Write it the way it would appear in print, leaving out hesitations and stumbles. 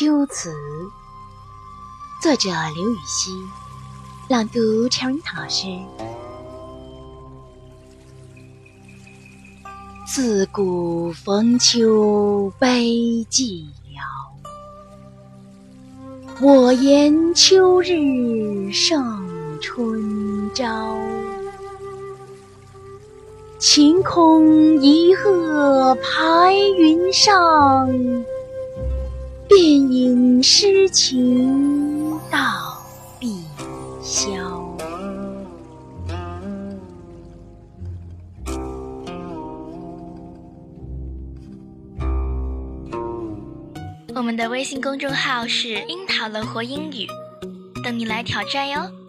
秋词，作者刘禹锡，朗读陈云老师。自古逢秋悲寂寥，我言秋日胜春朝。晴空一鹤排云上，便引诗情到碧霄。 我们的微信公众号是樱桃乐活英语，等你来挑战哟。